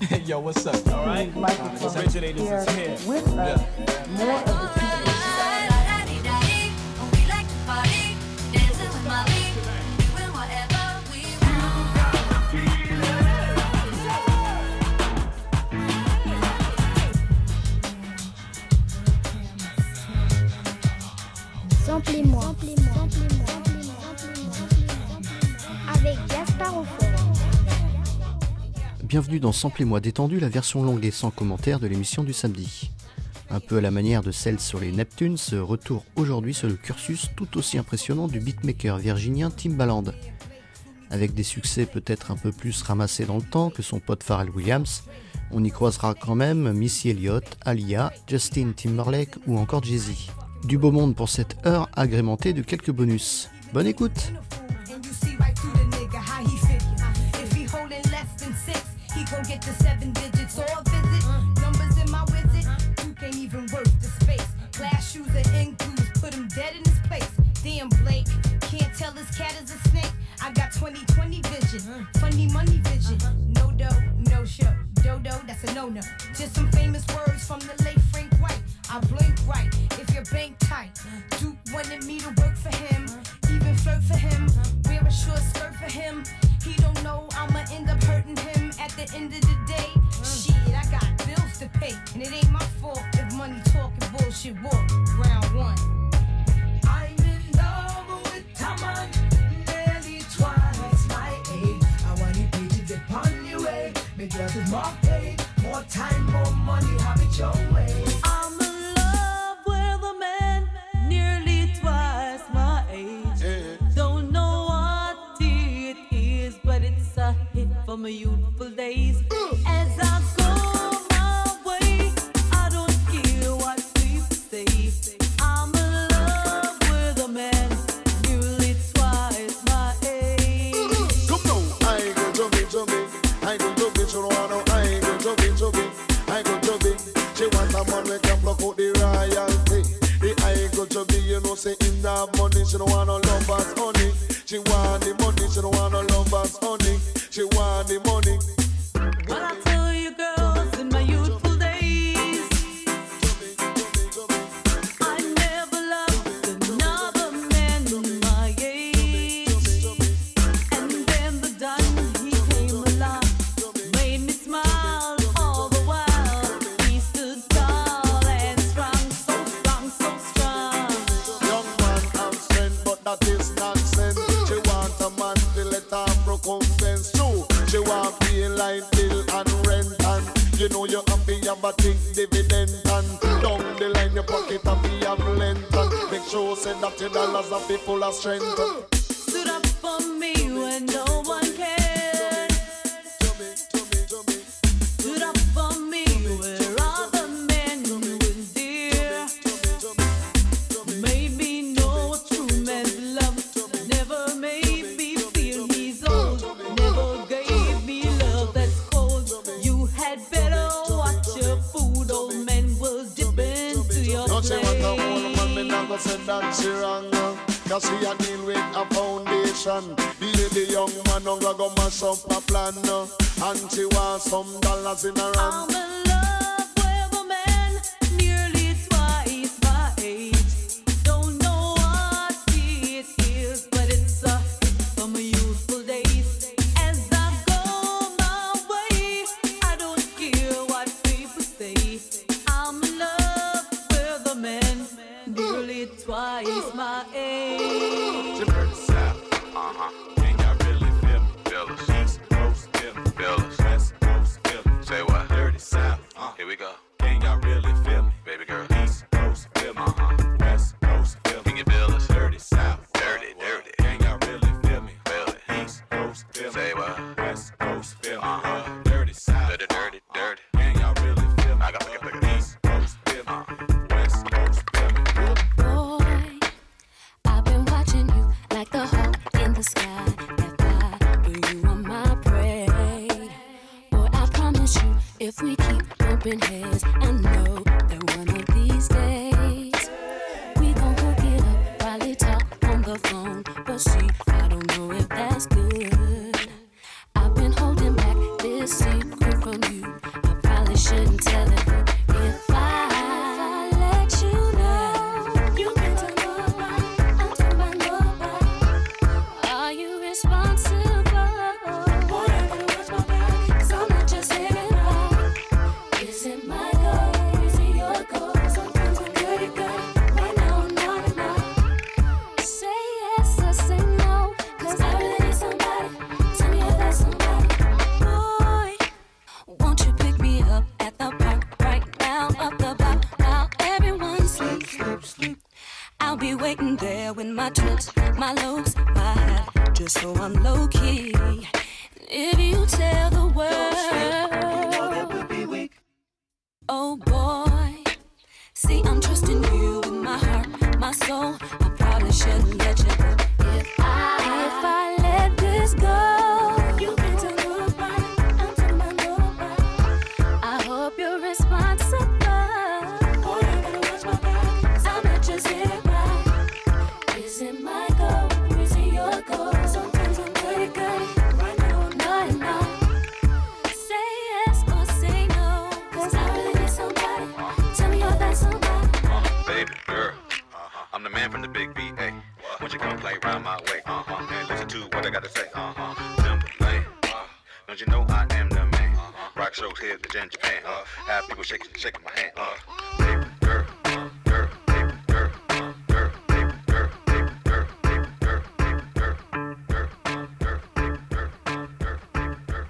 Yo, what's up? All right? Microphone Originators here is here. with us. More of the people. Samplez-moi. Avec Gaspard au fond. Bienvenue dans Samplez-moi détendu, la version longue et sans commentaire de l'émission du samedi. Un peu à la manière de celle sur les Neptunes, retour aujourd'hui sur le cursus tout aussi impressionnant du beatmaker virginien Timbaland. Avec des succès peut-être un peu plus ramassés dans le temps que son pote Pharrell Williams, on y croisera quand même Missy Elliott, Aaliyah, Justin Timberlake ou encore Jay-Z. Du beau monde pour cette heure agrémentée de quelques bonus. Bonne écoute! Gon' get the 7 digits or a visit. Numbers in my wizard, you can't even work the space. Glass shoes are in grooves, put him dead in his place. Damn Blake, can't tell this cat is a snake. I got 20/20 vision, funny money vision. No dough, no show. Dodo, that's a no-no. Just some famous words from the late Frank White. I blink right if your bank tight. Duke wanted me to work for him, even flirt for him, wear a short skirt for him. He don't know I'ma end up hurting him at the end of the day. Shit, I got bills to pay, and it ain't my fault if money talking bullshit walk. Round one. I'm in love with Taman, nearly twice my age. I want you to get on your way. Make girls is more paid, more time, more money, have it your way. I'm in love with a man nearly twice my age. Don't know what it is, but it's a hit for my youthful days. As I go my way, I don't care what people say. I'm in love with a man nearly twice my age. Come now, I ain't gonna jump in. I ain't gonna jump in, so I know I ain't gonna jump in. I ain't gonna jump in. She want a man we can block out the royalty. The I ain't gonna jump in, you know, say in that money, she don't want no lovers, honey. She want the money, she don't want no lovers, honey. She want the money. What I tell you girls in my youthful days, I never loved another man my age. And then the done, he came along, made me smile all the while. He stood tall and strong, so strong, so strong. Young man have strength, but that is nonsense. She want a man to let her recompense too. She want pay light bill and rent, and you know you happy have a big dividend, and down the line your pocket happy have length, and make sure say that your dollars are be full of strength. Stood up for me when no one cared. Stood up for me where other men wouldn't dare. Made me know what true man's love. Never made me feel he's old. Never gave me love that's cold. You had better watch your food. Old men will dip into your No, she want a old plate. man, me not go say that she wrong. Cause she a deal with a foundation. The young man don't go mash up a plan. And she want some dollars in her I'm hand. in love with a man nearly twice my age. Don't know what it is, but it's a hit from my youthful days. As I go my way, I don't care what people say. I'm in love with a man nearly twice my age. She heard the South, Can y'all really feel me? Feel us. East Coast, feel me. Feel us. West Coast, feel me. Say what? Dirty South, here we go. Can y'all really feel me? Baby girl. East Coast, feel me. West Coast, feel me. Can you feel us? Dirty South, dirty. Can y'all really feel me? Feel it. East Coast, feel me. Say what? West Coast, feel me. Dirty South, dirty. Can y'all really feel me? I got to East Coast, feel me. West Coast, feel me. Boy, I've been watching you like the hawk in the sky. That fly, but you are my prey. Boy, I promise you, if we keep bumping heads, I know that one of these days we gon' hook it up, probably talk on the phone. But see, I don't know if that's good. I've been holding back this secret from you my trips, my lows, my high, just so I'm low key. If you tell the world, you know that would be weak. Oh boy, see I'm trusting you with my heart, my soul. I probably shouldn't let you go. If I let this go, you can tell nobody, I'm telling my nobody. I hope you're responsible. Boy, you better watch my back, I'm not just here right. Is it my goal, or is it your goal? Sometimes I'm pretty good, right now I'm not enough. Say yes or say no, 'cause I really need somebody. Tell me you're that somebody. Baby girl, I'm the man from the big B.A. Won't you come play round my way? And listen to what I gotta say. Timberlane, don't you know I am the man? Rock shows here in Japan. Have people shaking my hand. Baby girl, girl, baby girl, girl, baby girl, baby girl, baby girl, baby girl, girl, girl, baby girl, girl, baby girl,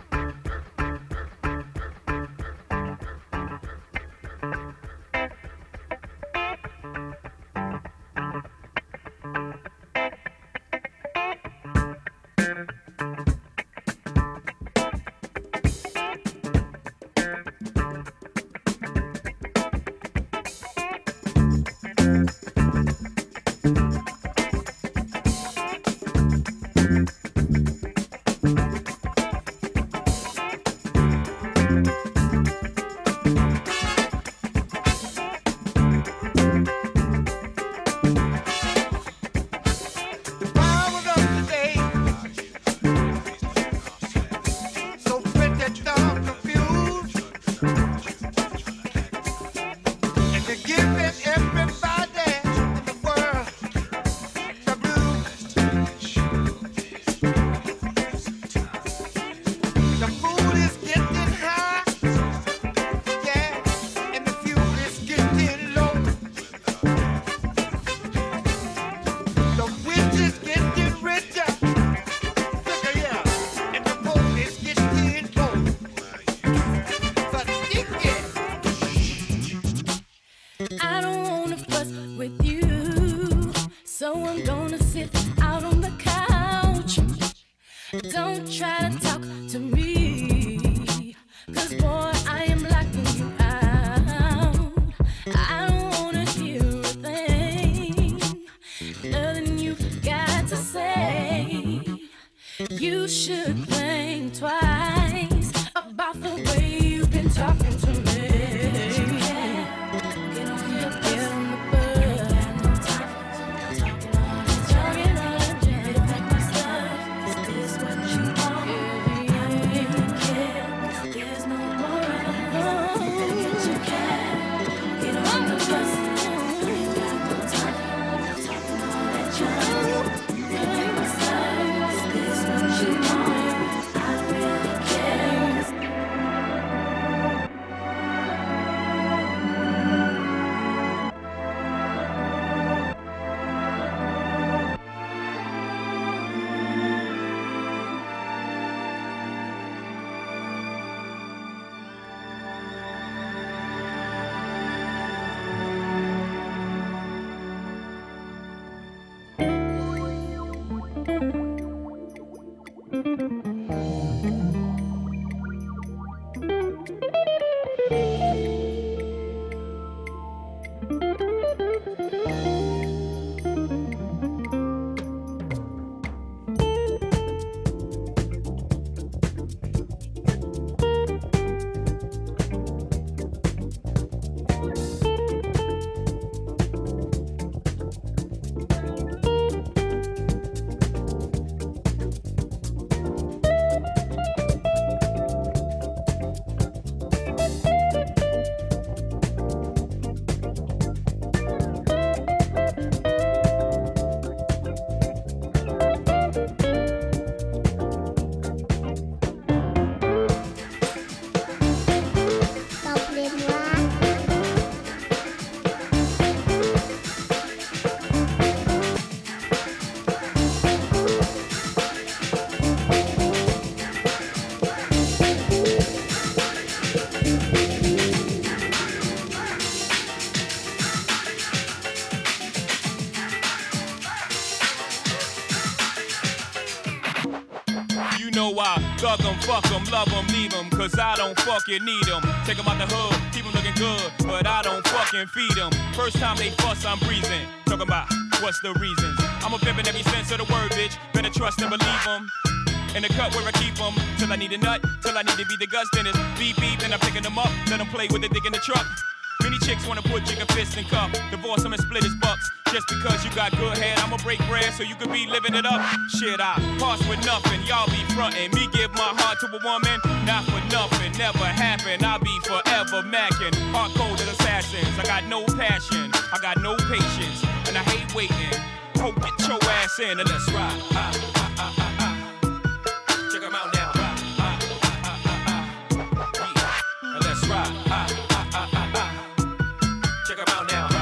The power of today, so pretty dark confused, and you're giving everybody in the world the blues. The food is getting high, yeah, and the fuel is getting low. The witch is getting richer, look at here, and the boat is getting old. But I don't wanna fuss with you, so I'm gonna sit out on the couch. Don't try to talk to me, 'cause boy, I am locking you out. I don't wanna hear a thing, nothing you've got to say. You should think twice about the way you've been talking to me. Get on the bus. Talking all that jazz, like my stuff. Is this what you want? Yeah. There's no more wrong. Get your cat. Get on the bus. Ain't got no time. Talking all that jazz. Like my stuff. Is this what you want? I really care. Fuck them, love them, leave them, cause I don't fucking need them. Take them out the hood, keep them looking good, but I don't fucking feed them. First time they fuss, I'm breezing. Talking about what's the reasons. I'm a pimp in every sense of the word, bitch. Better trust and believe them. In the cut where I keep them, till I need a nut, till I need to be the Gus Dennis. Beep beep, and I'm picking them up, let them play with the dick in the truck. Many chicks wanna put chicken fists in cup, divorce him and split his bucks. Just because you got good head, I'ma break bread so you could be living it up. Shit, I pass with nothing, y'all be frontin'. Me give my heart to a woman, not for nothing, never happen. I'll be forever mackin', hard-coded assassins. I got no passion, I got no patience, and I hate waiting. Hope get your ass in and let's ride. Check 'em out now. Yeah. And let's ride. Check 'em out now.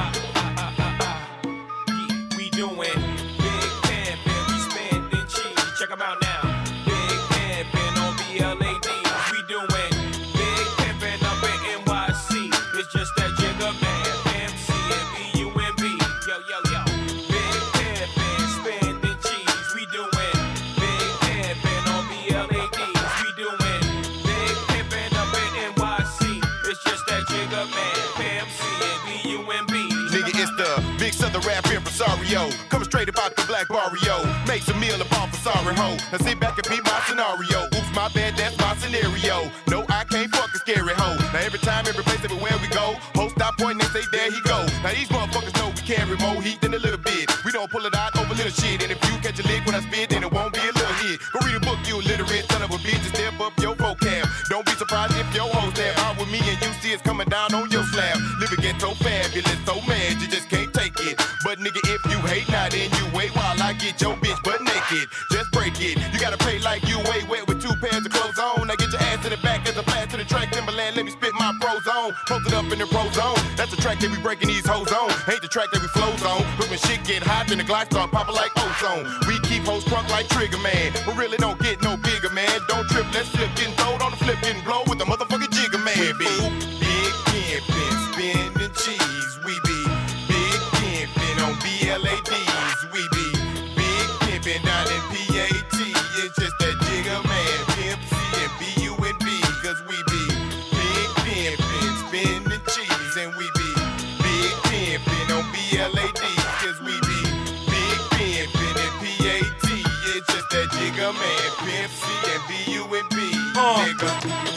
Yeah, we doing big pimpin', we spending cheese. Check 'em out now. Big pimpin' on BLAD. We doing big pimpin' up in NYC. It's just that Jigga Man, MC and BUMB. Yo, yo, yo. Big pimpin', spending cheese. We doing big pimpin' on BLAD. We doing big pimpin' up in NYC. It's just that Jigga Man, MC and BUMB. Nigga, it's the big southern rap impresario. Coming straight about the black barrio. Makes a meal of all for sorry ho. Now sit back and beat my scenario. Oops, my bad, that's my scenario. No, I can't fuck a scary hoe. Now every time, every place, everywhere we go, hoes stop pointing and say, there he go. Now these motherfuckers know we carry more heat than a little bit. We don't pull it out over little shit. And if you catch a lick when I spit, then it won't be a little hit. Go read a book, you illiterate son of a bitch, and step up your vocab. Don't be surprised if your hoes stab out with me and you see it's coming down on your slab. Living ghetto fabulous, so mad you just can't take it. But nigga, if you hate, now then you wait while I get your bitch butt naked. Just break it. You gotta pay like you way wet with 2 pairs of clothes on. Now get your ass in the back as a blast to the track. Timberland, let me spit my pros on. Post it up in the pro zone. That's the track that we breaking these hoes on. Ain't the track that we flows on. But when shit get hot, then the glide start popping like ozone. We keep hoes crunk like Trigger Man. But really don't get no bigger, man. Don't trip, let's slip, getting throwed on the flip, getting blow with the motherfucking Jigger Man. We be big pimpin', spinning cheese. We be big pimpin' on BLADs. We be big pimpin' down in PAT. It's just that Jigger Man, Pimp C and BUNB. Cause we be big pimpin', spinning cheese. And we be big pimpin' on BLADs. Cause we be big pimpin' in PAT. It's just that Jigger Man, Pimp C and BUNB. Nigga.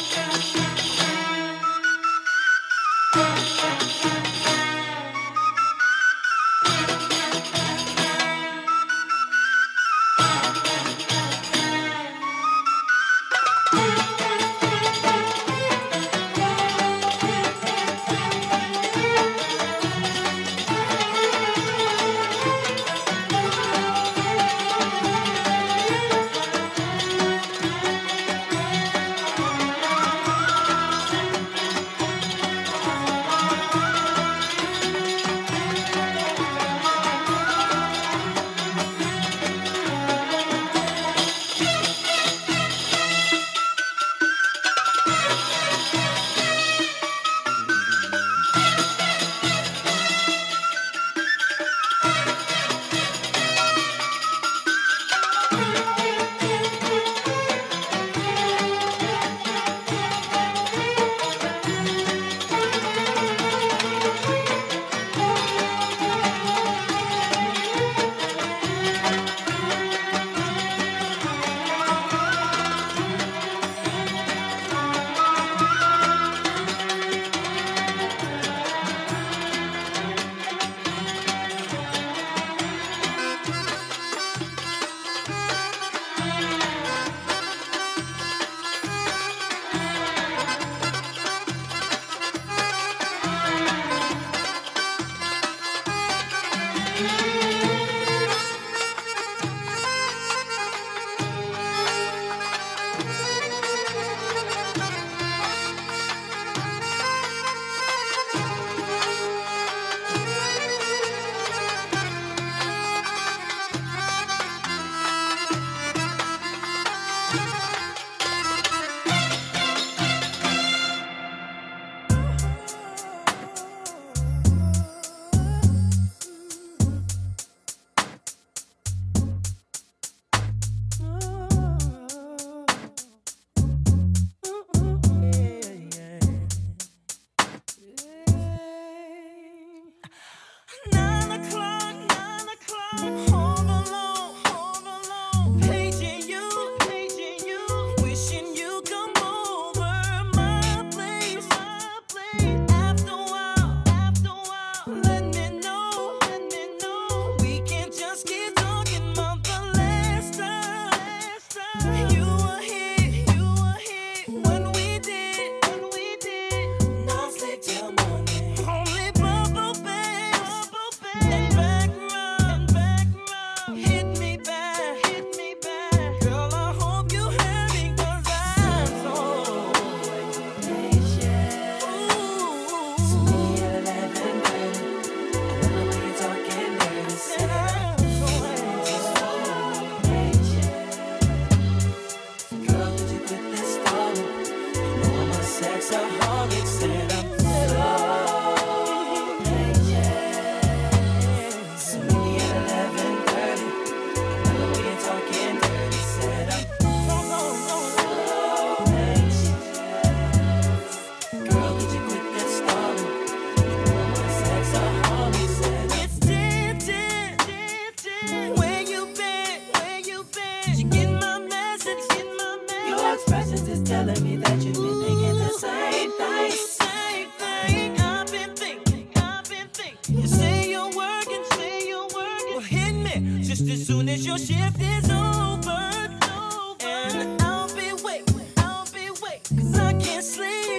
that you've been thinking the same thing. I've been thinking. You say you're working. Well, hit me just as soon as your shift is over. And I'll be waiting. 'Cause I can't sleep.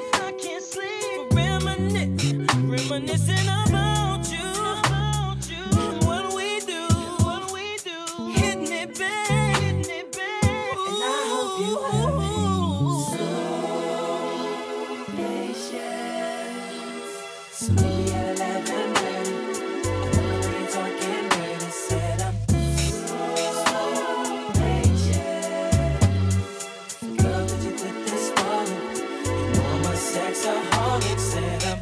Reminiscing about you. What we do. Hitting it back. And I hope you have some patience. So maybe at 11:30, we're talking dirty. Said I'm so patient. Girl, did you click this one? You know I'm a sexaholic. Said I'm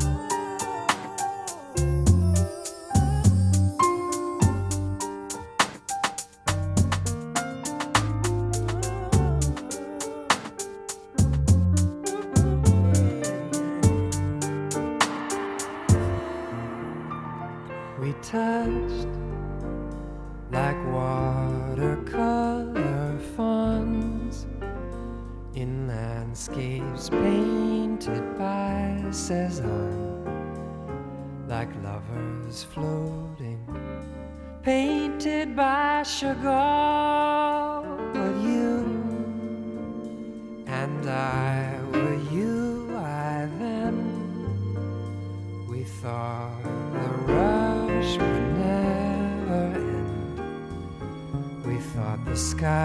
touched like watercolor fawns in landscapes painted by Cézanne, like lovers floating, painted by Chagall. But you and I were you, I then. We thought the rush would never end. We thought the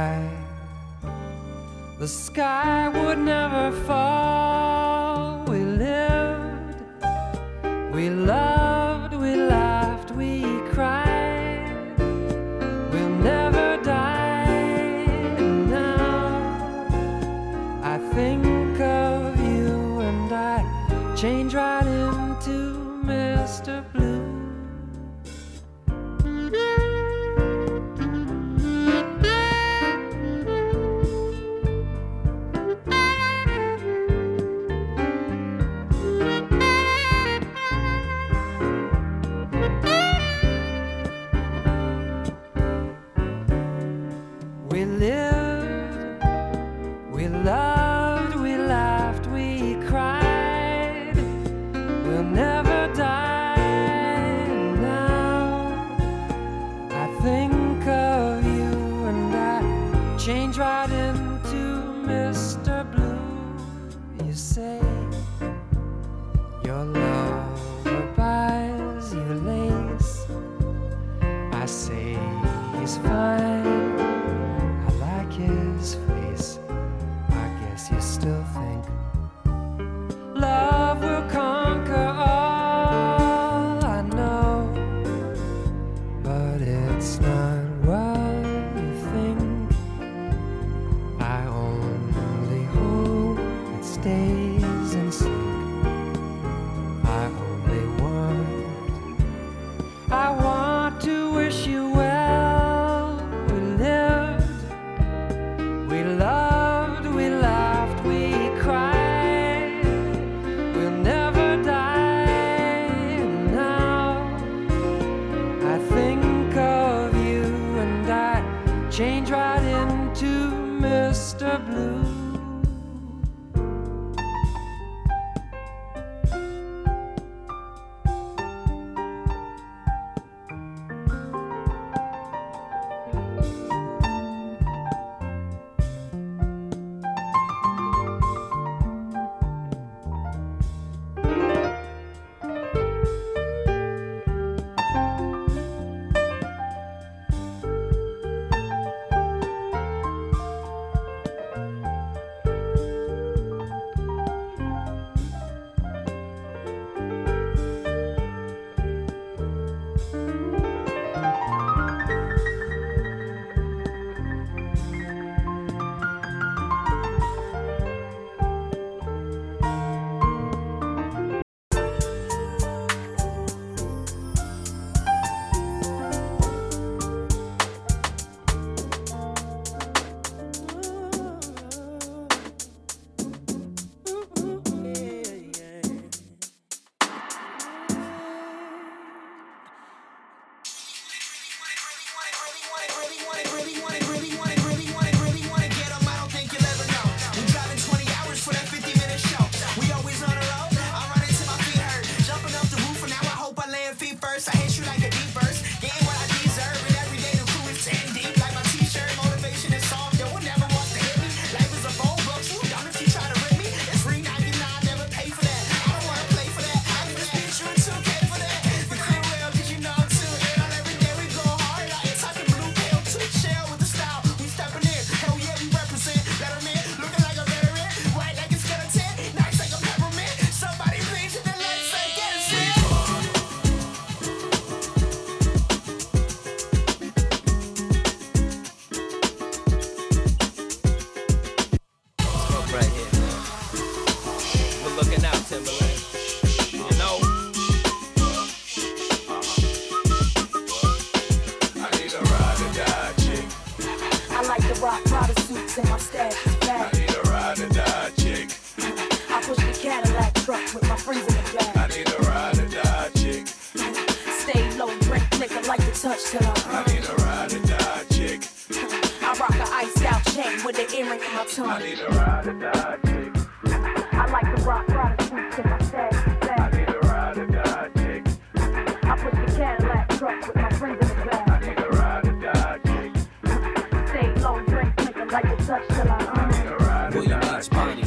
sky would never fall. We lived, we loved, we laughed, we cried. We'll never die. Now I think of you and I change right into Mr. Blue. We lived, we loved, we laughed, we cried. We'll never die. Now I think of you and I change right into Mr. Blue. You say your lover buys you lace. I say he's fine, I like his face. I guess you still think love will conquer all. I know, but it's not what you think. I only hope it stays in sync. I only want to wish you well. We lived, we loved, we laughed, we cried. We'll never die. Now I think of you and I change right into Mr. Blue. looking out, Timberland. You know? I need a ride or die chick. I like the rock Prada suits and my stash is back. I need a ride or die chick. I push the Cadillac truck with my friends in the back. I need a ride or die chick. Stay low, drink liquor, like to touch till I need a ride or die chick. I rock a iced out chain with an earring in my tongue. I need a ride or die chick. I like the rock Prada suits and my stash is back. I need a ride or die chick. I push the Cadillac truck with my friends in the back. I need a ride or die chick. Stay low, drink liquor, like to touch till I need a ride or die chick.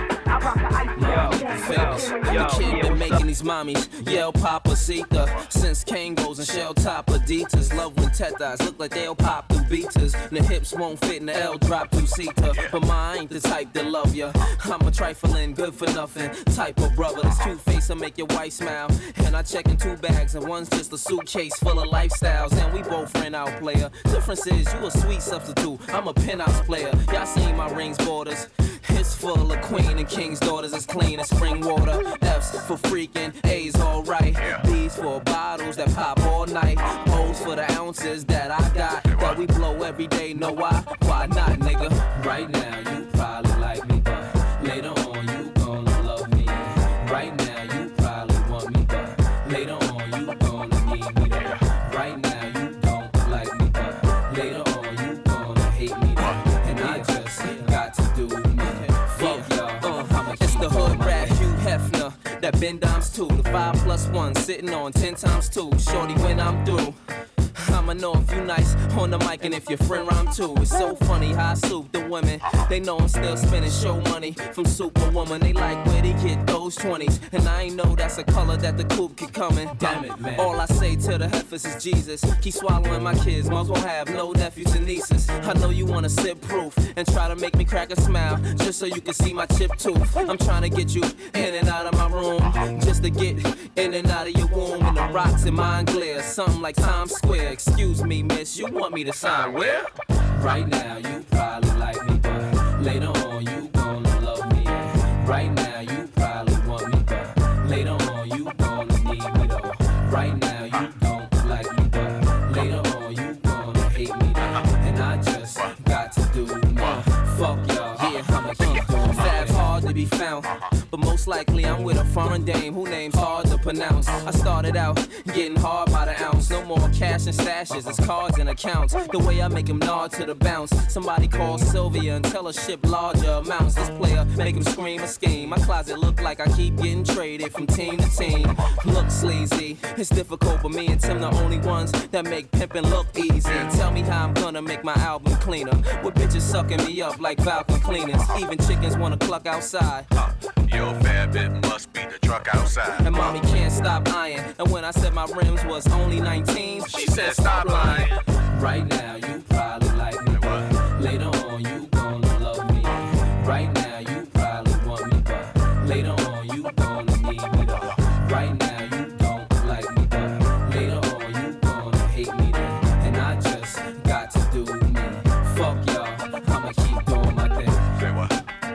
I rock a iced out chain. Famous. The kid been making these mommies yell Papacita since Kangos and shell top Adidas. Love when tetas look like they'll pop through beaters. And the hips won't fit in the L drop two-seater. But mine ain't the type that love ya. I'm a trifling, good for nothing type of brother. This cute face will make your wife smile. And I check in 2 bags and one's just a suitcase full of lifestyles. And we both rent out player. Difference is you a sweet substitute. I'm a penthouse player. Y'all seen my rings borders. It's full of queen and king's daughters. It's clean as spring water. F's for freaking, A's alright. B's for bottles that pop all night. O's for the ounces that I got. That we blow every day. Know why? Why not, nigga? Right now you probably like me, but later on you gonna love me. Right now you probably want me, but later on you gonna need me. Right now you don't like me, but later on you gonna hate me. And I just got to do me. Fuck y'all. It's the hood rat Hugh Hefner. That Ben Dimes too. The 5+1 sitting on 10 times 2. Shorty when I'm through. I'ma know if you nice on the mic and if your friend rhyme too. It's so funny how I soup the women. They know I'm still spending show money from Superwoman. They like where they get those 20s. And I ain't know that's a color that the coupe keep coming. Damn it, man. All I say to the heifers is Jesus. Keep swallowing my kids. Might as well have no nephews and nieces. I know you wanna sit proof and try to make me crack a smile just so you can see my chip tooth. I'm trying to get you in and out of my room just to get in and out of your womb. And the rocks in mine glare. Something like Times Square. Excuse me, miss, you want me to sign where? Right now, you probably like me, but later on, you gonna love me. Right now, you probably want me, but later on, you gonna need me, though. Right now, you don't like me, but later on, you gonna hate me, though. And I just got to do more. Fuck y'all, yeah, I'ma keep doing. Fab's hard to be found, but most likely I'm with a foreign dame who name's hard to pronounce. I started out getting hard by the ounce. No more cash and stashes, it's cards and accounts. The way I make them nod to the bounce. Somebody call Sylvia and tell her ship larger amounts. This player make him scream and scheme. My closet look like I keep getting traded from team to team. Look sleazy, it's difficult, but me and Tim the only ones that make pimpin' look easy. Tell me how I'm gonna make my album cleaner. With bitches sucking me up like vacuum cleaners. Even chickens wanna cluck outside. Your bad bit must be the truck outside. And mommy can't stop eyeing. And when I said my rims was only 19, she said stop lying. Right now you probably like me, but later on you gonna love me. Right now you probably want me, but later on you gonna need me, though. Right now you don't like me, but later on you gonna hate me, though. And I just got to do me. Fuck y'all, I'ma keep doing my thing. Say what?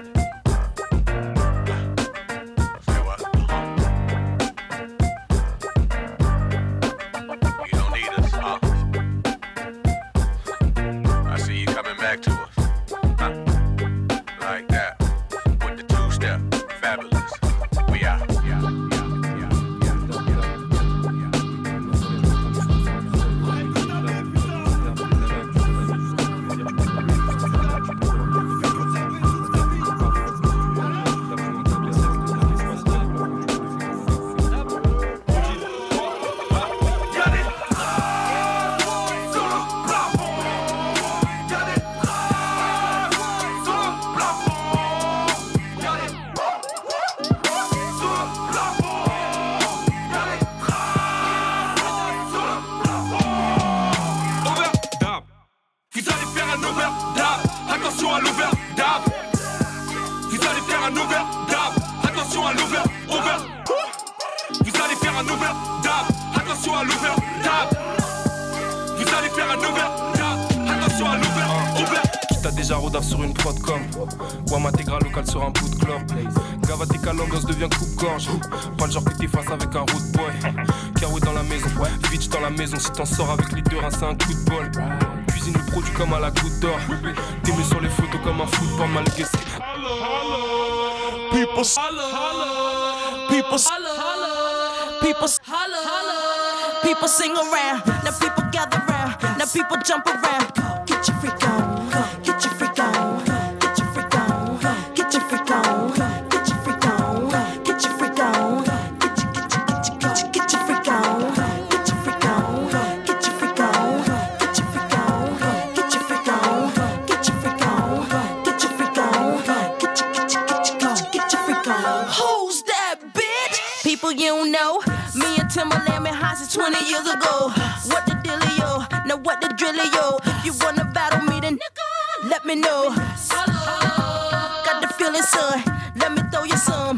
Back to us, like that, with the 2-step, fabulous. We out. sympathique à l'ambiance devient coupe-gorge. Pas le genre que t'es face avec un road boy. Karoué dans la maison, Vitch dans la maison. Si t'en sors avec les deux reins, c'est un coup de bol. Cuisine le produit comme à la goutte d'or. T'es mis sur les photos comme un football malgré ce People, people sing around. Now people gather round. Now people jump around. Get your freak on. Get your freak on. Get your freak on. Get your freak on. Get your freak on. Get your freak on. Get your freak on. Get your freak on. Get your freak on. Get your freak on. Get your freak on. Get your freak on. Get your freak on. Get your freak on. Who's that bitch? People you don't know. Me and Timberland been high since 20 years ago. What the dealio? Now what the drillio? If you wanna battle me, then let me know. Got the feeling, son. Let me throw you some.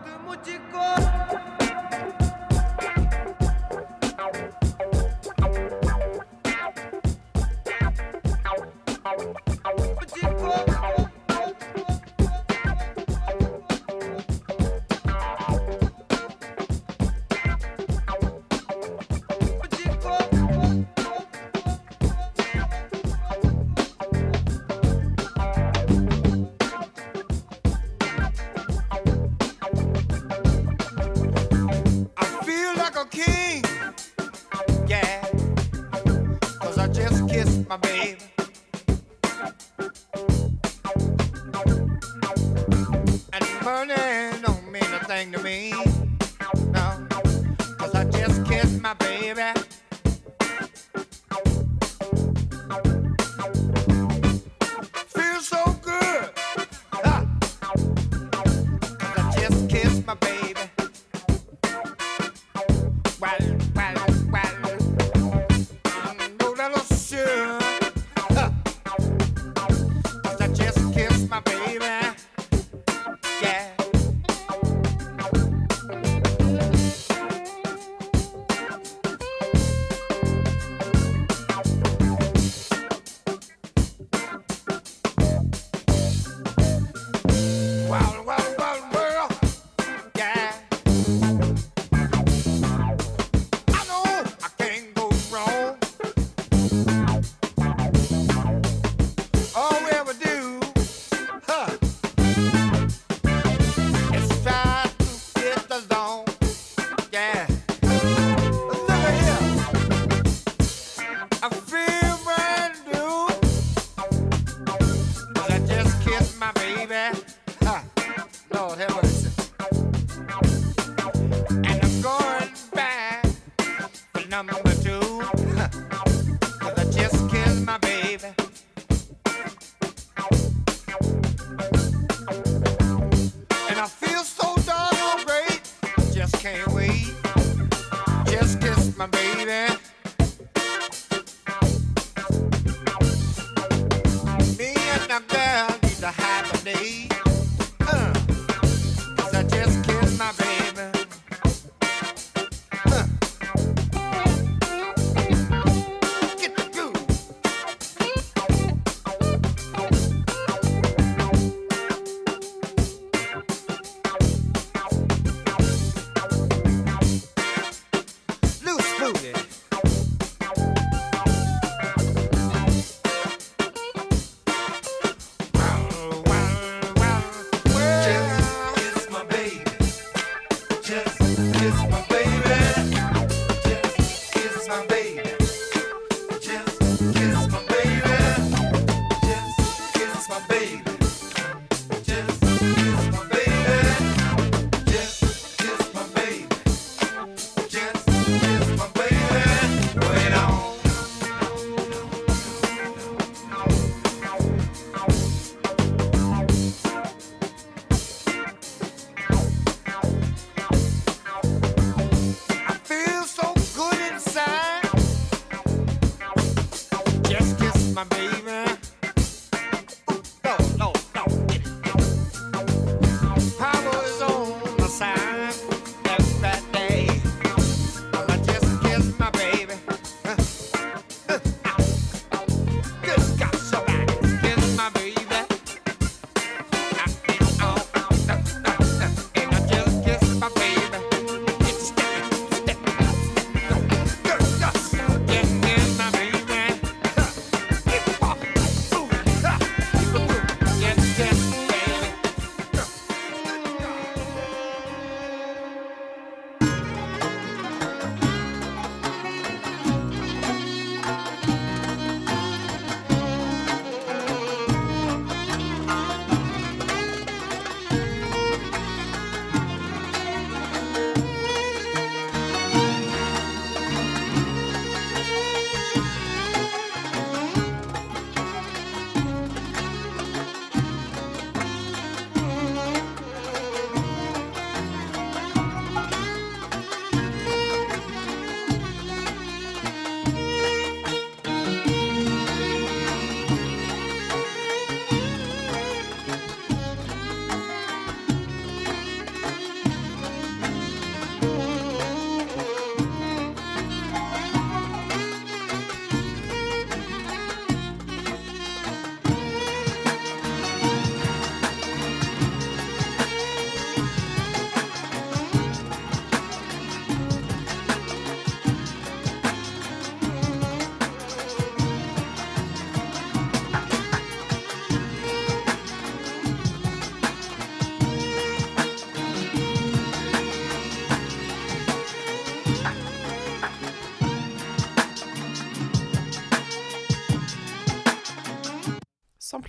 My baby, and money don't mean a thing to me, no, 'cause I just kissed my baby. Feels so good, 'cause I just kissed my baby.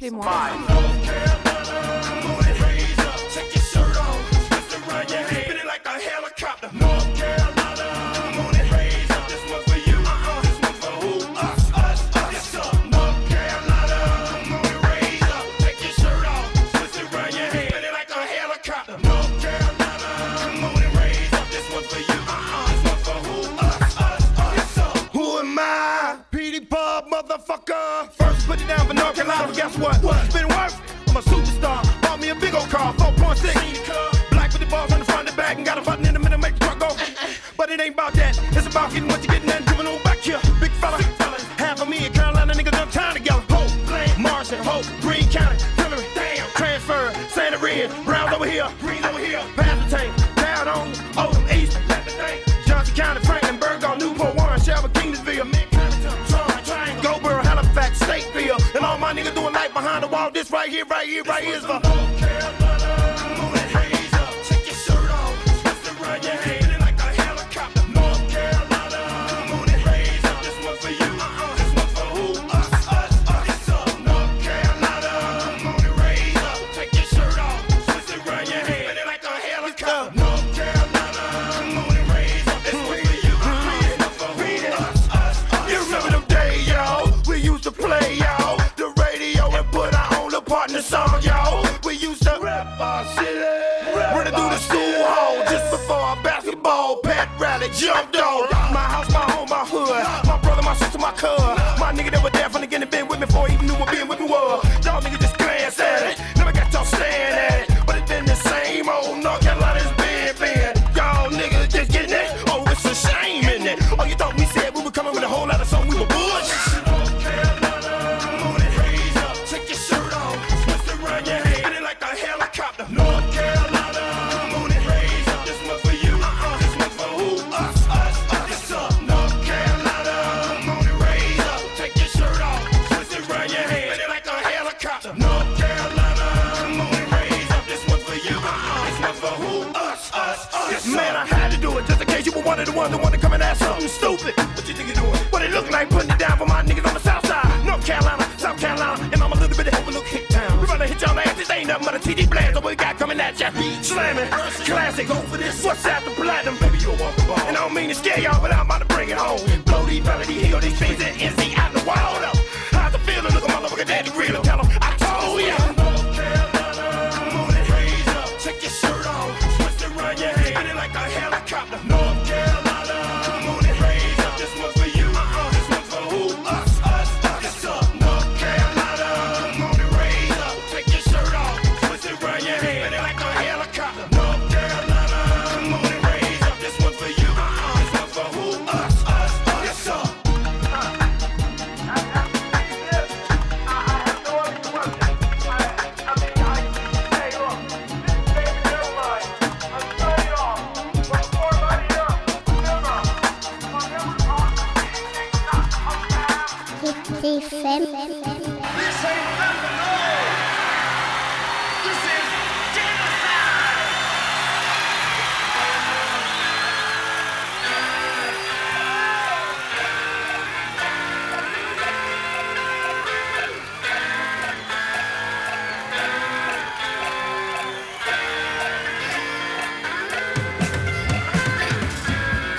Samplez-moi. Motherfucker, first put it down for North Carolina. Guess what? It's been worth. I'm a superstar. Bought me a big old car, 4.6. Black with the balls on the front and back, and got a button in the middle, make the truck go. But it ain't about that. It's about getting what you're getting and giving on back here. Big fella, half of me and Carolina niggas done time together. Hope, Marshall, Hope, Greene County, Hillary, damn, transfer, Santa Red, Browns over here, Greens over here, pass the tank, down on Oldham East, Johnson County, Franklin, Burgall, Newport, Warren, Shelby, Kingsville, Goldboro, Halifax, Stateville, and all my niggas doing life behind the wall. This right here is for North Carolina. Moving hands up, take your shirt off, twist it around your head like a helicopter. North Carolina, moving hands up. This one's for you, this one's for who? Us. It's up. North Carolina, moving hands up, take your shirt off, twist it around your head like a helicopter. North Carolina, moving hands up. This one's for you, this one's for who? Us. You remember them days, y'all? We used to play, y'all, the radio and put our own little partner song, y'all. We used to rap our city, running through the school hall just before our basketball pet rally jumped on. My house, my home, my hood, my brother, my sister, my cuz, my nigga that was there from the beginning, been with me before he even knew what being with me was. Y'all niggas just glance at it, never got y'all staring at it, but it's been the same old North Carolina's been. Y'all niggas just getting it, oh it's a shame, isn't it? Oh you thought we said we were coming with a whole lot of something, we were bush. North Carolina, moving hands up. This one's for you, this one's for who? Us. It's up. North Carolina, moving hands up. Take your shirt off, twist it around your head like a helicopter. North Carolina, moving hands up. This one's for you, this one's for who? Us. Yes, man, I had to do it just in case you were one of the ones that want to come and ask something stupid. What you think you're doing? What it look like putting it down for my niggas on the south side? North Carolina, South Carolina, and I'm a little bit of overlook hit town. We gonna hit y'all ass, this ain't nothing but a TD blast. What we got coming at ya? Slamming, classic, go for this. What's after platinum? Baby, you'll walk the ball. And I don't mean to scare y'all, but I'm about to bring it home. Blow these melody, heal these things and NC out the wall up. How's it feeling? Look at my motherfucker daddy grill and tell him I told ya. North Carolina, moving hands up. Take your shirt off, twist it around your head like a helicopter. North Carolina, moving hands up. This one's for you, this one's for who? Us. It's up. North Carolina, moving hands up. Take your shirt off, twist it around your head like a helicopter. North Carolina, moving hands up. This one's for you, this one's for who? Us. It's up.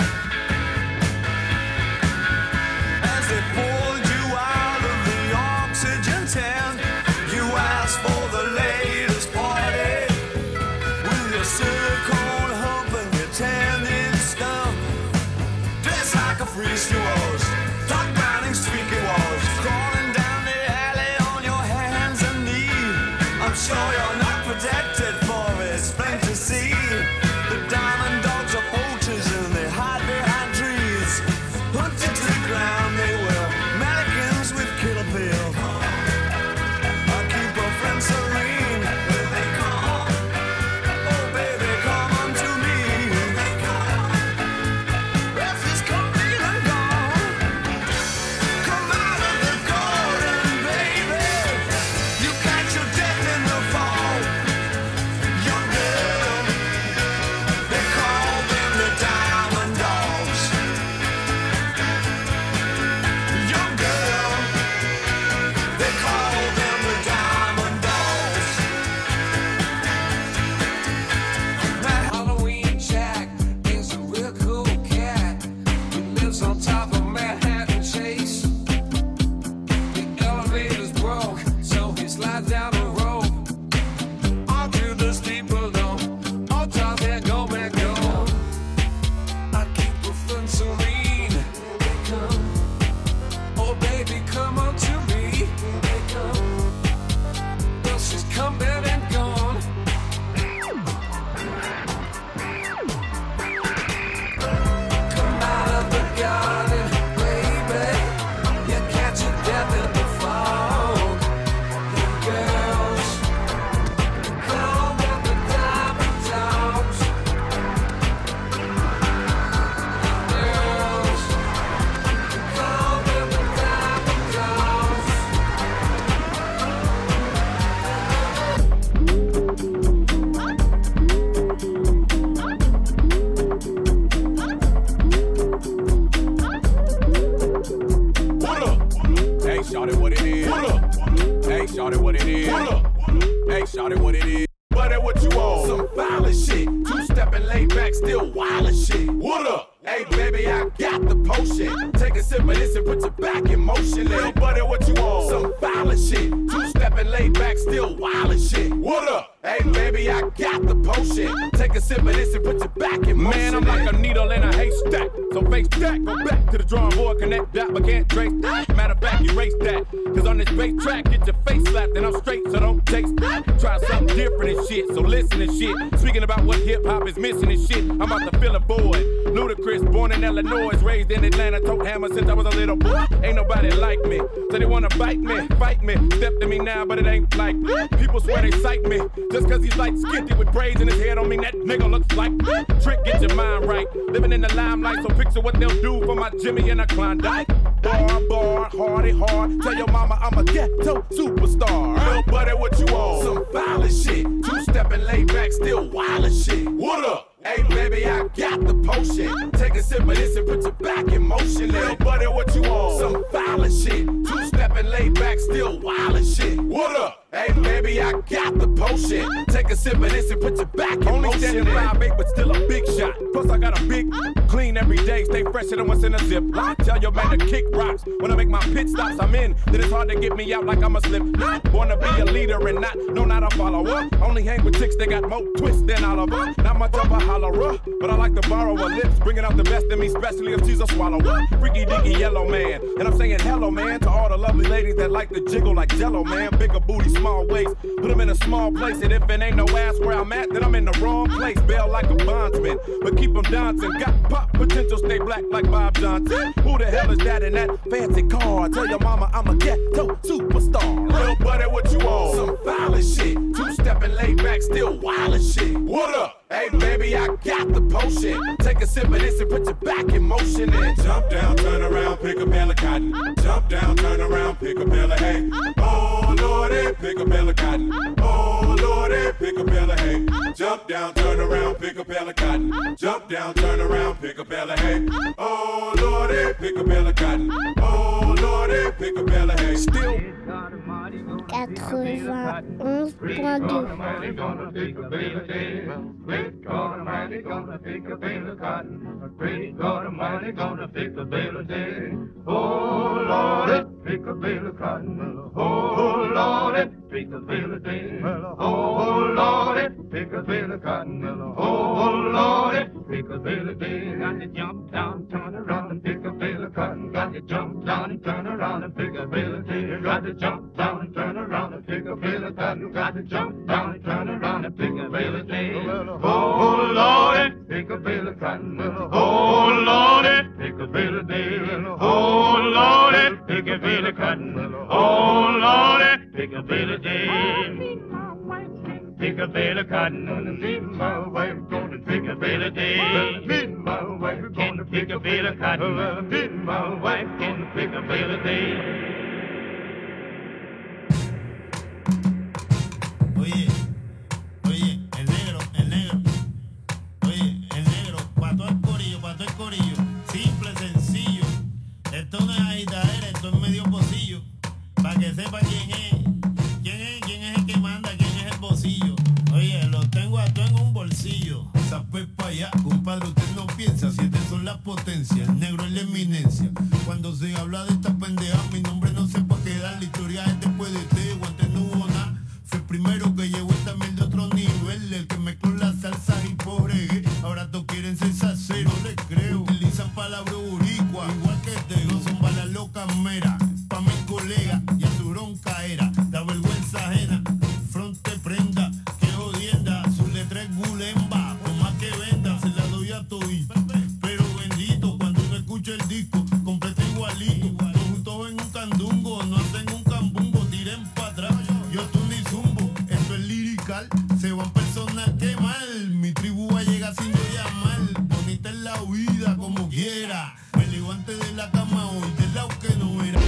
As they pulled you out of the shawty, what it is? What up? Hey, shawty, what it is? But that what you on? Some violent shit. Two-stepping, laid back, still wild as shit. What up? Hey, baby, I got the potion. Take a sip of this and put your back in motion. Little buddy, what you on? Some violent shit. Two-stepping, laid back, still wild as shit. What up? Hey, baby, I got the potion. Take a sip of this and put your back in motion. Man, I'm like a needle in a haystack. So face that, go back to the drawing board, connect that, but can't trace that. Matter of fact, erase that. Cause on this bass track, get your face slapped, and I'm straight, so don't taste that. Try something different and shit, so listen and shit. Speaking about what hip-hop is missing and shit, I'm about to fill a void. Ludacris, born in Illinois, raised in Atlanta, tote hammer since I was a little boy. Ain't nobody like me, so they wanna bite me, fight me. Step to me now, but it ain't like people swear they sight me. Just cause he's like skinty with braids in his head don't mean that nigga looks like Trick, get your mind right. Living in the limelight, so picture what they'll do for my Jimmy and a Klondike. Bar, hardy hard. Tell your mama I'm a ghetto superstar. Little buddy, what you on? Some violent shit. Two-stepping, laid back, still wild as shit. What up? Hey, baby, I got the potion. Take a sip of this and put your back in motion. Little buddy, what you on? Some violent shit. Two-stepping, laid back, still wild as shit. What up? Hey, baby, I got the potion. Take a sip of this and put your back in motion. Only standing 5'8", but still a big shot. Plus, I got a big clean every day. Stay fresher than what's in a zip. Tell your man to kick rocks. When I make my pit stops, I'm in. Then it's hard to get me out like I'm a slip. Wanna be a leader and not a follower. Only hang with chicks that got more twists than Oliver. Not much of a hollerer, but I like to borrow her lips. Bringing out the best in me, especially if she's a swallower. Freaky deaky yellow man. And I'm saying hello, man, to all the lovely ladies that like to jiggle like Jello, man. Bigger booty, small waist. Put them in a small place. And if it ain't no ass where I'm at, then I'm in the wrong place. Bail like a bondsman, but keep them dancing. Got pop potential, stay black like Bob Johnson. Who the hell is that in that fancy car? Tell your mama I'm a ghetto superstar. Little buddy, what you on? Some violent shit. Two-stepping, laid back, still wild as shit. What up? Hey, baby, I got the potion. Take a sip of this and put your back in motion. And jump down, turn around, pick a bale of cotton. Jump down, turn around, pick a bale of hay. Oh, Lordy, pick a bale of cotton. Oh, Lordy, pick a bale of hay. Jump down, turn around, pick a bale of cotton. Jump down, turn around, pick a bale of hay. Oh, Lordy, pick a bale of cotton. Oh, Lordy, pick a bale of hay. Still 91.2. Great God Almighty gonna pick a bale of cotton. Great God Almighty gonna pick a bale of day. Oh Lord, pick a bale of cotton. Oh Lord, pick a bale of day. Oh Lord, pick a bale of cotton. Oh Lord, pick a bale of day. Got to jump down, turn around and pick a bale of cotton. Got to jump down and turn around and pick a bale of day. Got to jump down and turn around and pick a bale of cotton. Got to jump down and turn around and pick a bale of day. Oh Lord, pick a bale of cotton. Oh Lord, pick a bale of day. Oh Lord, pick a bale of cotton. Oh Lord, pick a bale of day. Pick a bale of cotton. Me and my wife gonna pick a bale of day. Me and my wife gonna pick a bale of cotton. Me and my wife gonna pick a bale of day. Oye, el negro, oye, el negro, pa' todo el corillo, simple, sencillo, esto no es agitadera, esto es medio pocillo, pa' que sepa quién es el que manda, quién es el bolsillo, oye, lo tengo a todo en un bolsillo, zapé pa' allá, compadre, usted no piensa, si estas son las potencias, el negro es la eminencia, cuando se habla de esta pendeja, mi nombre no sé pa' qué dar, la historia es después de este, guante no hubo nada. Fue el primero que llevó esta miel de otro nivel, el que mezcló las salsas y por reggae. Ahora todos quieren ser salseros, no les creo. Utilizan palabras boricua, igual que te no son balas locas meras. Pa' mi colega y a su bronca era, da vergüenza ajena. Fronte prenda, que jodienda, su letra es gulemba. Por más que venda, se la doy a todito. Pero bendito, cuando uno escucha el disco, completo igualito. Todos juntos en un candungo, no hacen un cambungo, tiren pa' atrás. Yo tú ni zumbo, esto es lirical. Se van personas que mal. Mi tribu va a llegar sin yo llamar. Bonita en la vida como quiera. Me levanté de la cama hoy, del lado que no era.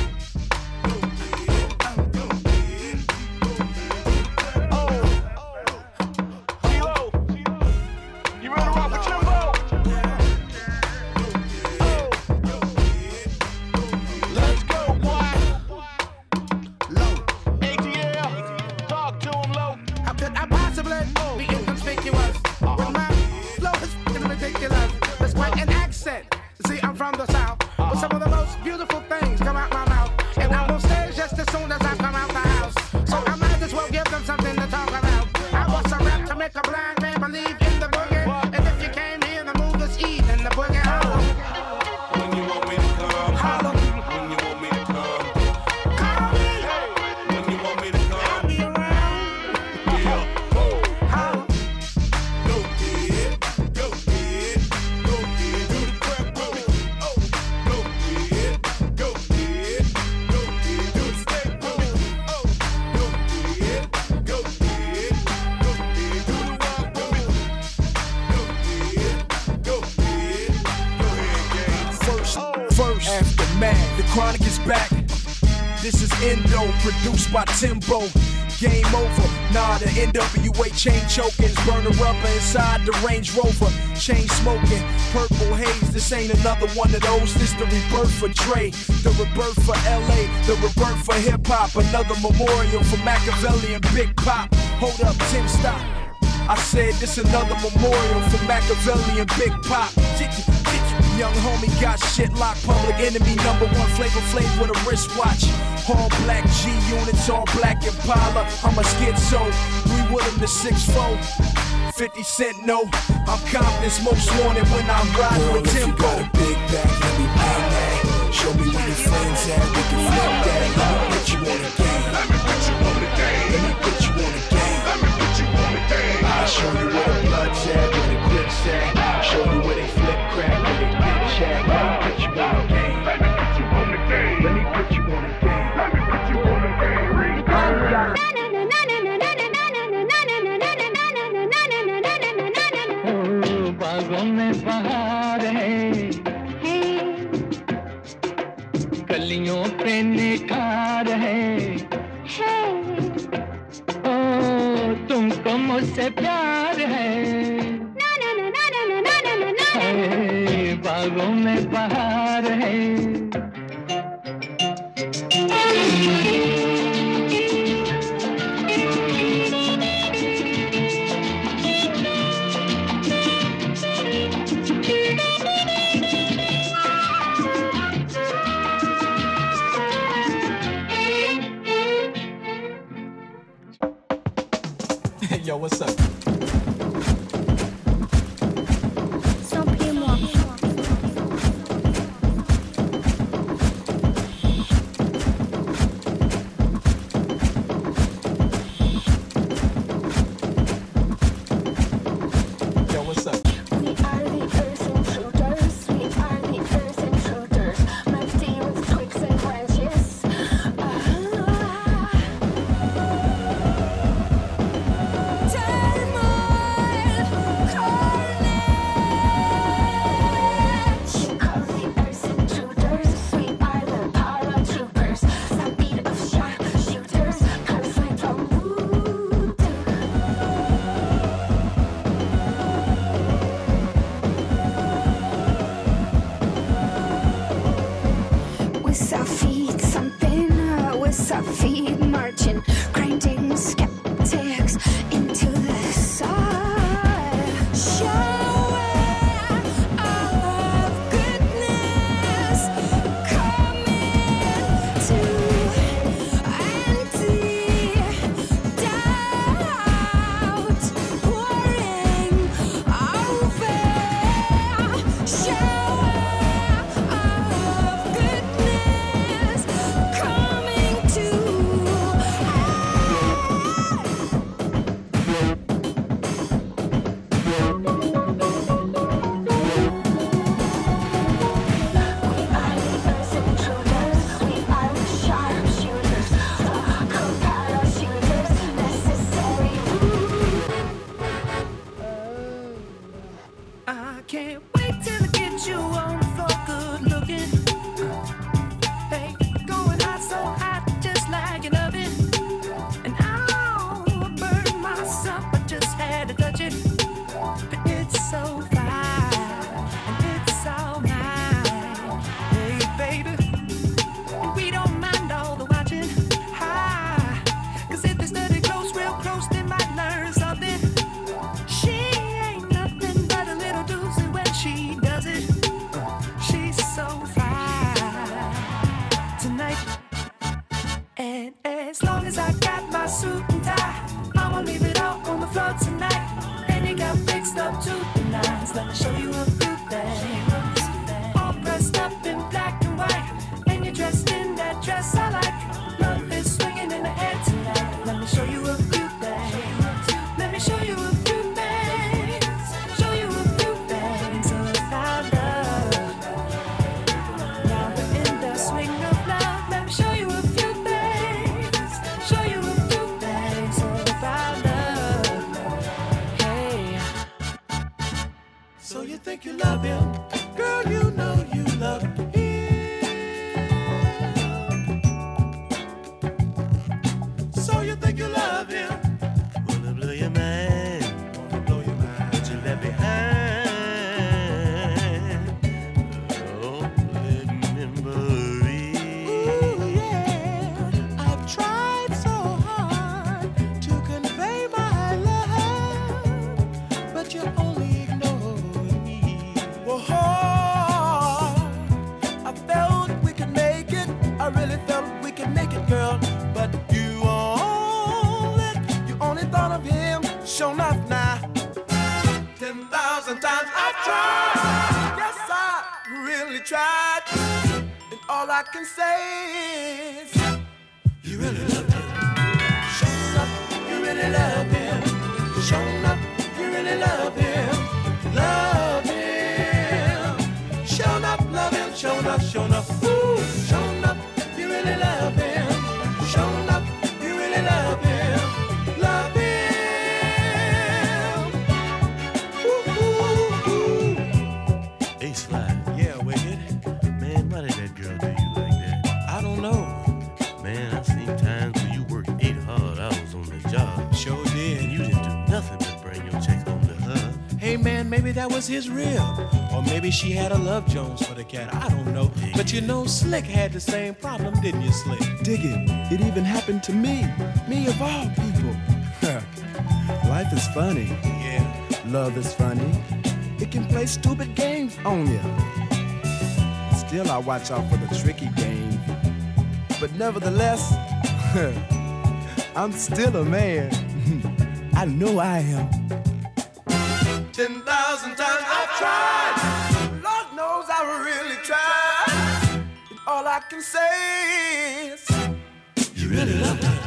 from the south. But some of the most beautiful things come out my mouth. And I'm on stage just as soon as I come out the house. So I might as well give them something to talk about. I was a rap to make a blind man believe in the boogie. And if you came here, the move this evening, the boogie holler. When you want me to come, holler. When you want me to come, call me. When you want me to come, I'll be around. Yeah. Holler. Go ahead, go ahead, go ahead, do the crap with me. Oh, go ahead, go ahead, go ahead, do the step with me. Oh, go ahead, go ahead, go ahead, do the rock with me. Go ahead, gang. First, aftermath. The Chronic is back. This is Endo, produced by Timbo. Game over. Nah, the NWA chain chokings, burning rubber inside the Range Rover. Chain smoking, purple haze. This ain't another one of those. This the rebirth for Dre, the rebirth for LA, the rebirth for hip hop. Another memorial for Machiavelli and Big Pop. Hold up, Tim, stop. I said this another memorial for Machiavelli and Big Pop. Young homie got shit locked, public enemy #1, Flavor Flav with a wristwatch. All black G units, all black Impala. I'm a schizo, 3 Woodham to 6'4". 50 Cent, no, I'm Compton's most wanted when I'm riding with Timbo. If you got a big bag, let me bang that. Show me where your friends at, we can flip that. Let me put you on the game. Let me put you on the game. Let me put you on the game. Let me put you on the game. I'll show you where the blood's at, where the grip's at. Show you where they flip crack, where they bitch at. Let me put you on the game. Let me put you on the game. Let me put you on the game. Let me put you on the game. बागों में बहार है, कलियों पे निखार है। ओ तुमको मुझसे प्यार है, बागों में बहार है। Yo, what's up? Samplez-moi. Yo, what's up? We are the earth intruders. We are the earth intruders. Melty with twigs and branches. With our feet thumping, with our feet marching, grinding skeptics into the side. Shower of goodness coming to empty doubt, pouring over. Shower of goodness coming to I can't wait till I get you on the floor, good looking. Hey, going hot, so hot, just like an oven. And I'll burn myself, I just had to touch it. But it's so fine, and it's all mine. Hey, baby, and we don't mind all the watching. Hi, 'cause if they study close, real close, they might learn something. She ain't nothing but a little doozy when she does it. So you think you love him? Girl, you know you love him. So you think you love him? Wanna blow your mind? Wanna blow your mind? What you left behind? Oh, memory. Ooh, yeah. I've tried so hard to convey my love, but you only ignore me. Whoa, I felt we could make it. I really felt we could make it, girl. But you only thought of him. Show enough now. 10,000 times I've tried. Yes, I really tried. And all I can say is, you really love him. Show enough, you really love him. Show enough, you really love him. Love him. Show enough, love him. Show enough, show enough. Ooh, show enough, you really love him. Show enough, you really love him. Love him. Ooh, ooh, ooh. Ace Fly. Yeah, Wicked. Man, why did that girl do you like that? I don't know. Man, I've seen times when you worked 8 hard hours on the job. Sure did. And you didn't do nothing but bring your check home to her. Hey, man, maybe that was his rib. Or maybe she had a Love Jones for the cat. I don't know. But you know, Slick had the same problem, didn't you, Slick? Dig it. It even happened to me. Me of all people. Life is funny. Yeah. Love is funny. It can play stupid games on you. Still, I watch out for the tricky game. But nevertheless, I'm still a man. I know I am. 10,000 times I've tried. Lord knows I really tried. And all I can say is, you really love him.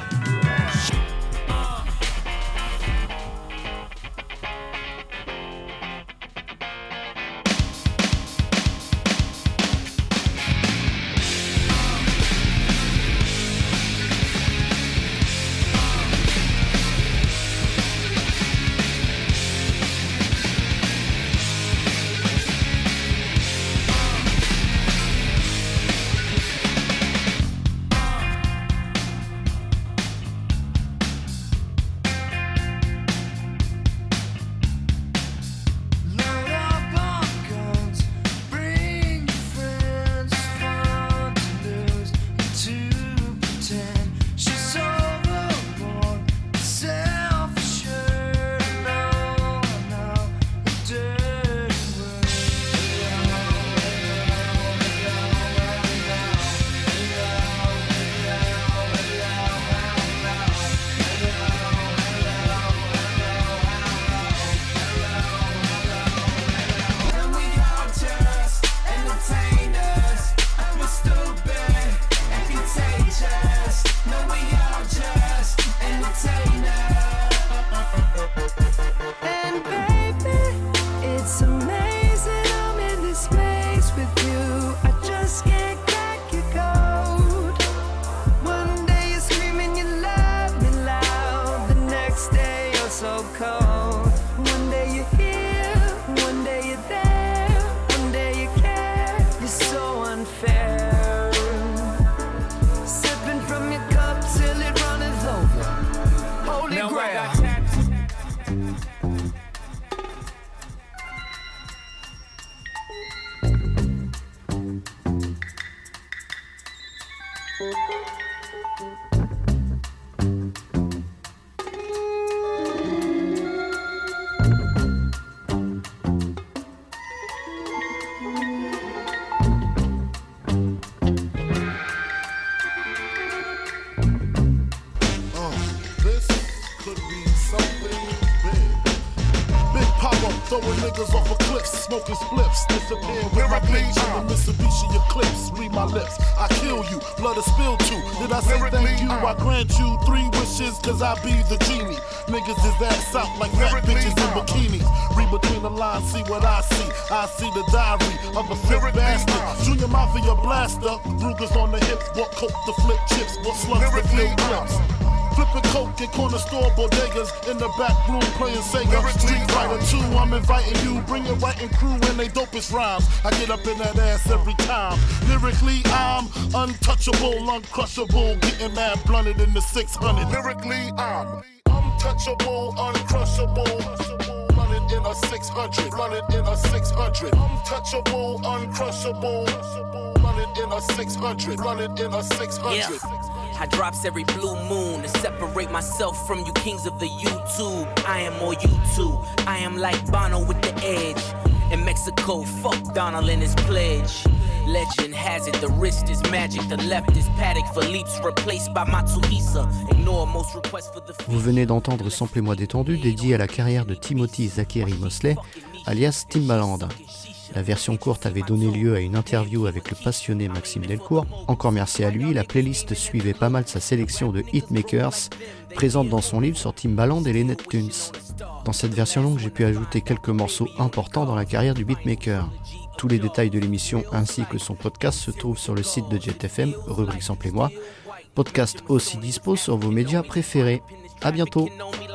Throwing niggas off a cliff, smoking spliffs, disappear with my bitch in the Mitsubishi Eclipse. Read my lips, I kill you, blood is spilled too. Did I say thank you? I grant you 3 wishes, cause I be the genie. Niggas is ass out like fat bitches in bikinis. Read between the lines, see what I see. I see the diary of a sick bastard. Junior Mafia blaster, Ruger's on the hips, what coke to flip chips, what slugs to fill clips. Flipping coke in corner store bodegas. In the back room playing Sega. Street Fighter 2, I'm inviting you. Bring your writing crew and they dopest rhymes. I get up in that ass every time. Lyrically, I'm untouchable, uncrushable. Getting mad blunted in the 600. Lyrically, I'm untouchable, uncrushable. Run it in a 600. Run it in a 600. Untouchable, uncrushable. Run it in a 600. Run it in a 600. Yeah. I drops every blue moon to separate myself from you kings of the YouTube. I am more YouTube. I am like Bono with the edge. In Mexico, fuck Donald and his pledge. Legend has it, the wrist is magic, the left is paddock for leaps replaced by Matsuhisa. Ignore most requests for the... Vous venez d'entendre Samplez-moi détendu, dédié à la carrière de Timothy Zachary Mosley, alias Timbaland. La version courte avait donné lieu à une interview avec le passionné Maxime Delcourt. Encore merci à lui, la playlist suivait pas mal sa sélection de hitmakers, présente dans son livre sur Timbaland et les Neptunes. Dans cette version longue, j'ai pu ajouter quelques morceaux importants dans la carrière du beatmaker. Tous les détails de l'émission ainsi que son podcast se trouvent sur le site de Jet FM, rubrique Samplez-moi. Podcast aussi dispo sur vos médias préférés. À bientôt.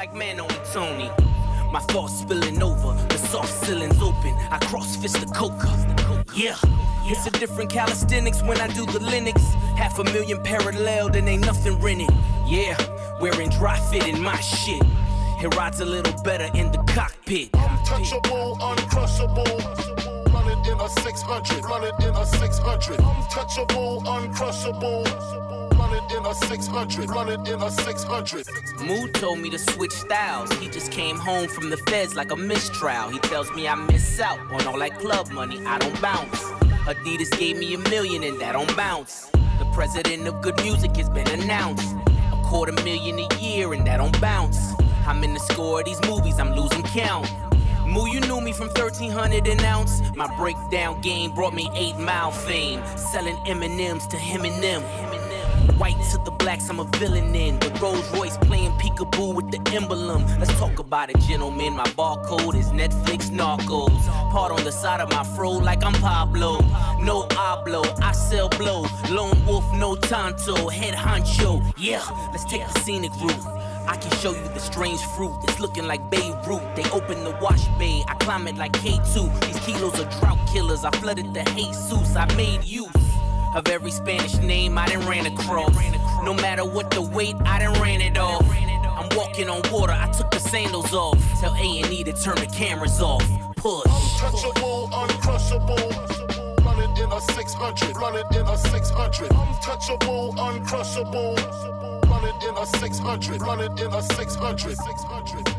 My thoughts spilling over, the soft ceilings open. I cross-fist the coca. Yeah, it's a different calisthenics when I do the Linux. 500,000 paralleled and ain't nothing rented. Yeah, wearing dry fit in my shit. It rides a little better in the cockpit. Untouchable, uncrushable. Run it in a 600. Run it in a 600. Untouchable, uncrushable. Run it in a 600. Run it in a 600. Mood told me to switch styles. He just came home from the feds like a mistrial. He tells me I miss out on all that club money. I don't bounce. Adidas gave me $1 million and that don't bounce. The president of good music has been announced. $250,000 a year and that don't bounce. I'm in the score of these movies, I'm losing count. Moo, you knew me from 1300 an ounce. My breakdown game brought me 8 Mile fame. Selling M&Ms to him and them. White to the blacks, I'm a villain in. The Rolls Royce playing peekaboo with the emblem. Let's talk about it, gentlemen. My barcode is Netflix Narcos. Part on the side of my fro like I'm Pablo. No hablo, I sell blow. Lone wolf, no tanto. Head honcho, yeah, let's take the scenic route. I can show you the strange fruit. It's looking like Beirut. They open the wash bay. I climb it like K2. These kilos are drought killers. I flooded the Jesus. I made use of every Spanish name I done ran across. No matter what the weight, I done ran it off. I'm walking on water. I took the sandals off. Tell A&E to turn the cameras off. Push. Untouchable, uncrushable. Run it in a 600. Run it in a 600. Untouchable, uncrushable. Run it in a 600. Run it in a 600. 600.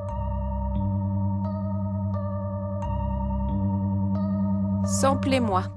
Samplez-moi.